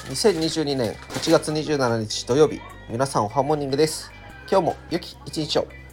2022年8月27日土曜日、皆さんおはモーニングです。今日も良き一日を。